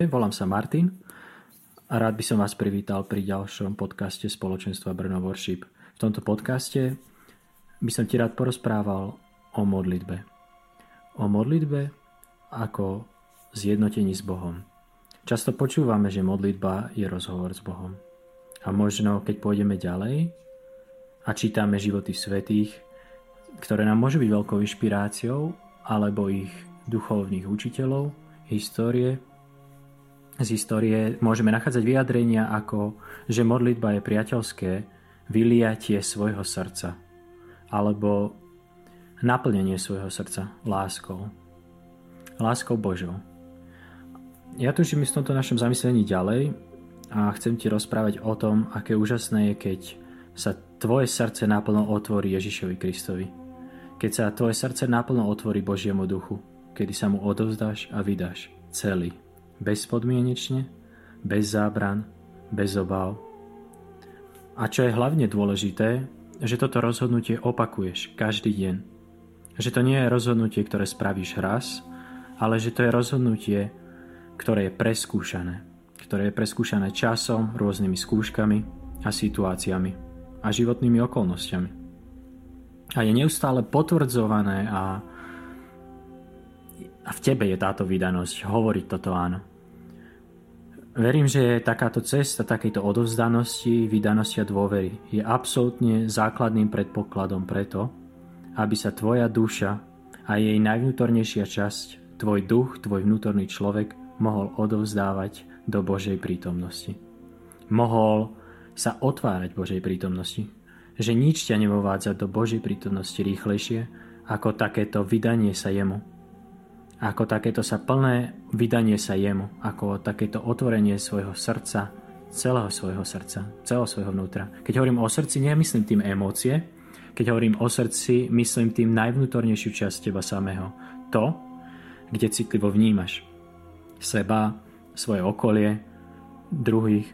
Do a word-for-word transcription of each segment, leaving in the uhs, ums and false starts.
Volám sa Martin a rád by som vás privítal pri ďalšom podcaste spoločenstva Brno Worship. V tomto podcaste by som ti rád porozprával o modlitbe. O modlitbe ako zjednotení s Bohom. Často počúvame, že modlitba je rozhovor s Bohom. A možno, keď pôjdeme ďalej a čítame životy svätých, ktoré nám môžu byť veľkou inšpiráciou, alebo ich duchovných učiteľov, histórie, z histórie môžeme nachádzať vyjadrenia ako, že modlitba je priateľské vyliatie svojho srdca alebo naplnenie svojho srdca láskou. Láskou Božou. Ja tužím v tomto našom zamyslení ďalej a chcem ti rozprávať o tom, aké úžasné je, keď sa tvoje srdce naplno otvorí Ježišovi Kristovi. Keď sa tvoje srdce naplno otvorí Božiemu duchu, kedy sa mu odovzdáš a vydáš celý. Bezpodmienečne, bez zábran, bez obav. A čo je hlavne dôležité, že toto rozhodnutie opakuješ každý deň. Že to nie je rozhodnutie, ktoré spravíš raz, ale že to je rozhodnutie, ktoré je preskúšané. Ktoré je preskúšané časom, rôznymi skúškami a situáciami a životnými okolnostiami. A je neustále potvrdzované a, a v tebe je táto vydanosť hovoriť toto áno. Verím, že takáto cesta, takejto odovzdanosti, vydanosti a dôvery je absolútne základným predpokladom preto, aby sa tvoja duša a jej najvnútornejšia časť, tvoj duch, tvoj vnútorný človek mohol odovzdávať do Božej prítomnosti. Mohol sa otvárať Božej prítomnosti. Že nič ťa nevovádza do Božej prítomnosti rýchlejšie ako takéto vydanie sa jemu. Ako takéto sa plné vydanie sa jemu, ako takéto otvorenie svojho srdca, celého svojho srdca, celého svojho vnútra. Keď hovorím o srdci, nemyslím tým emócie, keď hovorím o srdci, myslím tým najvnútornejšiu časť teba samého. To, kde citlivo vnímaš seba, svoje okolie, druhých,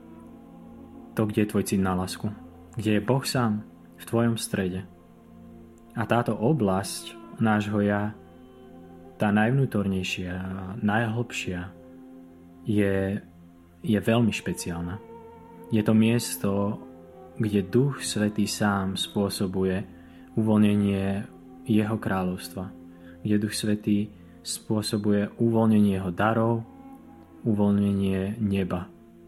to, kde je tvoj cit na lásku, kde je Boh sám v tvojom strede. A táto oblasť nášho ja, tá najvnútornejšia, najhlbšia, je, je veľmi špeciálna. Je to miesto, kde Duch Svätý sám spôsobuje uvoľnenie jeho kráľovstva. Kde Duch Svätý spôsobuje uvoľnenie jeho darov, uvoľnenie neba.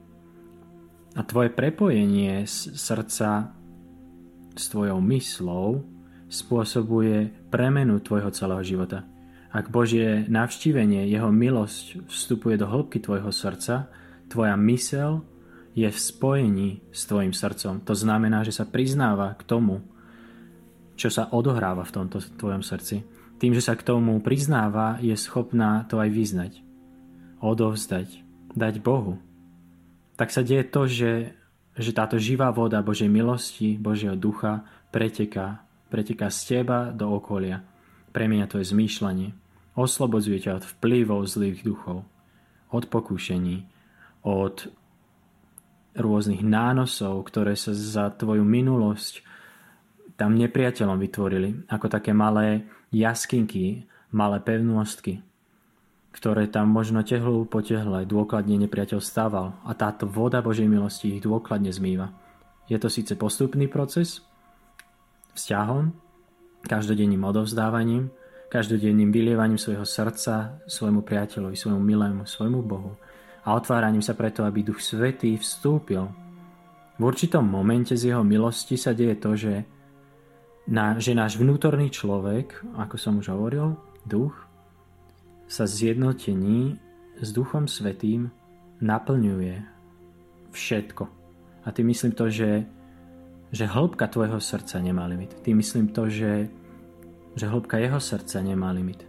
A tvoje prepojenie z srdca s tvojou myslou spôsobuje premenu tvojho celého života. Ak Božie navštívenie, jeho milosť vstupuje do hĺbky tvojho srdca, tvoja myseľ je v spojení s tvojim srdcom. To znamená, že sa priznáva k tomu, čo sa odohráva v tomto tvojom srdci. Tým, že sa k tomu priznáva, je schopná to aj vyznať, odovzdať, dať Bohu. Tak sa deje to, že, že táto živá voda Božej milosti, Božieho ducha preteká, preteká z teba do okolia. Premieňa tvoje zmýšľanie. Oslobodzuje ťa od vplyvov zlých duchov, od pokúšení, od rôznych nánosov, ktoré sa za tvoju minulosť tam nepriateľom vytvorili, ako také malé jaskinky, malé pevnostky, ktoré tam možno tehlu po tehle dôkladne nepriateľ stával a táto voda Božej milosti ich dôkladne zmýva. Je to síce postupný proces, vzťahom, každodenným odovzdávaním, každodenným vylievaním svojho srdca svojmu priateľovi, svojmu milému, svojmu Bohu a otváraním sa preto, aby Duch Svätý vstúpil. V určitom momente z jeho milosti sa deje to, že, na, že náš vnútorný človek, ako som už hovoril, duch, sa zjednotení s Duchom Svätým naplňuje všetko. A tým myslím to, že, že hĺbka tvojho srdca nemá limit. Tým myslím to, že že hĺbka jeho srdca nemá limit.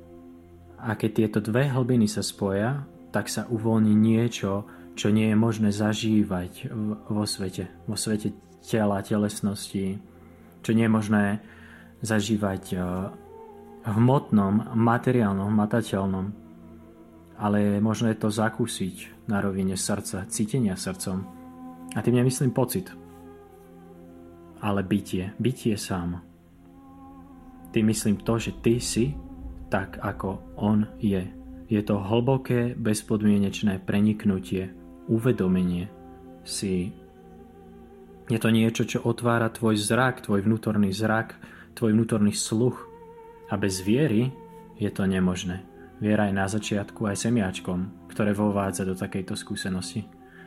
A keď tieto dve hlbiny sa spoja, tak sa uvoľní niečo, čo nie je možné zažívať vo svete. Vo svete tela, telesnosti. Čo nie je možné zažívať v hmotnom, materiálnom, matateľnom. Ale je možné to zakúsiť na rovine srdca, cítenia srdcom. A tým nemyslím pocit, ale bytie. Bytie sám. Tým myslím to, že ty si tak, ako on je. Je to hlboké, bezpodmienečné preniknutie, uvedomenie si. Je to niečo, čo otvára tvoj zrak, tvoj vnútorný zrak, tvoj vnútorný sluch. A bez viery je to nemožné. Viera je na začiatku aj semiačkom, ktoré vovádza do takejto skúsenosti.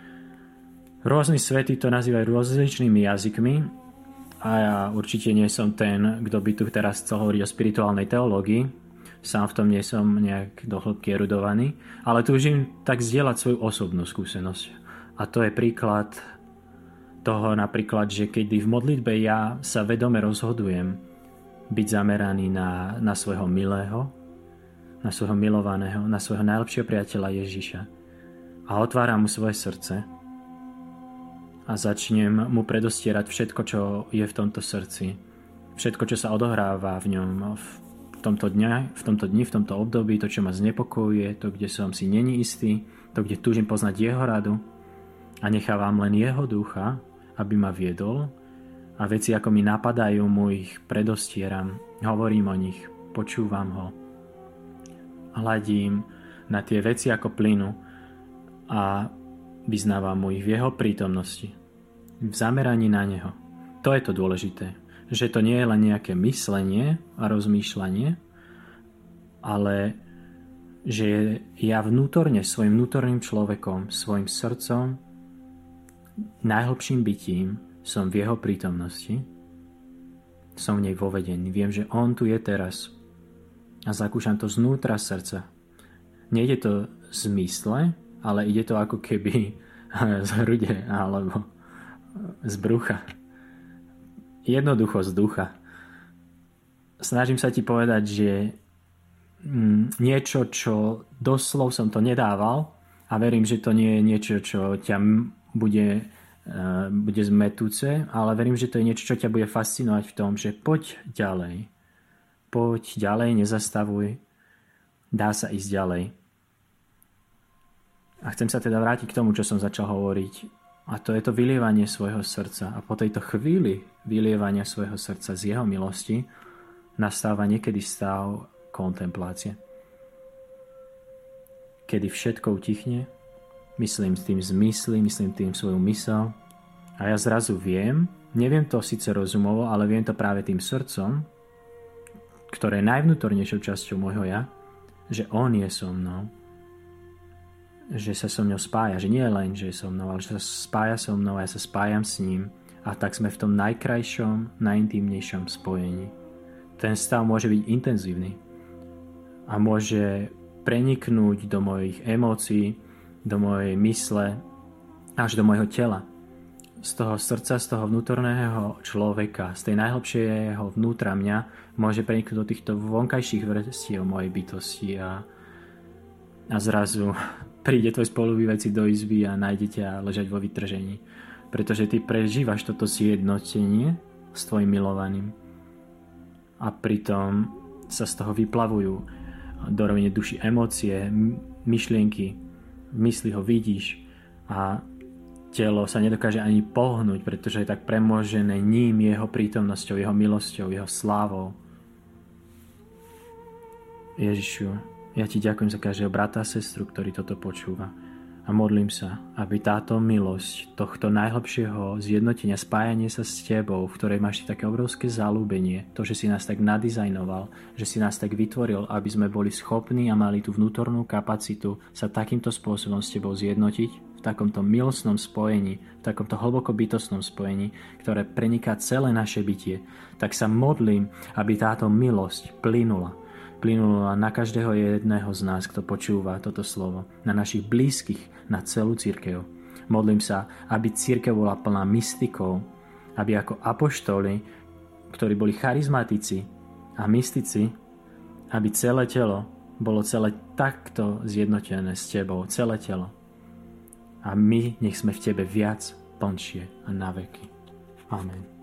Rôzni svety to nazývajú rozličnými jazykmi a ja určite nie som ten, kto by tu teraz chcel hovoriť o spirituálnej teológii. Sám v tom nie som nejak do hĺbky erudovaný, ale túžim tak zdieľať svoju osobnú skúsenosť. A to je príklad toho napríklad, že keď v modlitbe ja sa vedome rozhodujem byť zameraný na, na svojho milého, na svojho milovaného, na svojho najlepšieho priateľa Ježiša a otváram mu svoje srdce a začnem mu predostierať všetko, čo je v tomto srdci, všetko, čo sa odohráva v ňom v tomto dňa, v tomto dni, v tomto období, to, čo ma znepokojuje, to, kde som si není istý, to, kde túžim poznať jeho radu a nechávam len jeho ducha, aby ma viedol a veci, ako mi napadajú, mu ich predostieram, hovorím o nich, počúvam ho, hladím na tie veci ako plynu a vyznávam mu ich v jeho prítomnosti, v zameraní na neho. To je to dôležité, že to nie je len nejaké myslenie a rozmýšľanie, ale že ja vnútorne svojim vnútorným človekom, svojim srdcom, najhlbším bytím som v jeho prítomnosti, som v nej vovedený. Viem, že on tu je teraz a zakúšam to znútra srdca. Nejde to z mysle, ale ide to ako keby z hrude alebo z brucha. Jednoducho z ducha. Snažím sa ti povedať, že niečo, čo doslov som to nedával a verím, že to nie je niečo, čo ťa bude, bude zmetúce, ale verím, že to je niečo, čo ťa bude fascinovať v tom, že poď ďalej. Poď ďalej, nezastavuj. Dá sa ísť ďalej. A chcem sa teda vrátiť k tomu, čo som začal hovoriť. A to je to vylievanie svojho srdca. A po tejto chvíli vylievania svojho srdca z jeho milosti nastáva niekedy stav kontemplácie. Kedy všetko utichne, myslím tým zmysly, myslím tým svoju mysel a ja zrazu viem, neviem to síce rozumovo, ale viem to práve tým srdcom, ktoré je najvnútornejšou časťou môjho ja, že on je so mnou, že sa so mnou spája, že nie len, že je so mnou, ale že sa spája so mnou a ja sa spájam s ním a tak sme v tom najkrajšom, najintímnejšom spojení. Ten stav môže byť intenzívny a môže preniknúť do mojich emócií, do mojej mysle, až do mojho tela. Z toho srdca, z toho vnútorného človeka, z tej najhlbšieho vnútra mňa môže preniknúť do týchto vonkajších vrstiev mojej bytosti a, a zrazu príde tvoj spolubývajúci do izby a nájde ťa ležať vo vytržení. Pretože ty prežívaš toto zjednotenie s tvojim milovaným a pritom sa z toho vyplavujú do rovine duši emócie, myšlienky, v mysli ho vidíš a telo sa nedokáže ani pohnúť, pretože je tak premožené ním, jeho prítomnosťou, jeho milosťou, jeho slávou. Ježišu, ja ti ďakujem za každého brata a sestru, ktorý toto počúva. A modlím sa, aby táto milosť tohto najhlbšieho zjednotenia, spájanie sa s tebou, v ktorej máš také obrovské zalúbenie, to, že si nás tak nadizajnoval, že si nás tak vytvoril, aby sme boli schopní a mali tú vnútornú kapacitu sa takýmto spôsobom s tebou zjednotiť, v takomto milostnom spojení, v takomto hlboko bytostnom spojení, ktoré preniká celé naše bytie, tak sa modlím, aby táto milosť plynula. Plynula na každého jedného z nás, kto počúva toto slovo, na našich blízkych, na celú cirkev. Modlím sa, aby cirkev bola plná mystikov, aby ako apoštoli, ktorí boli charizmatici a mystici, aby celé telo bolo celé takto zjednotené s tebou, celé telo. A my nech sme v tebe viac, plnšie a na veky. Amen.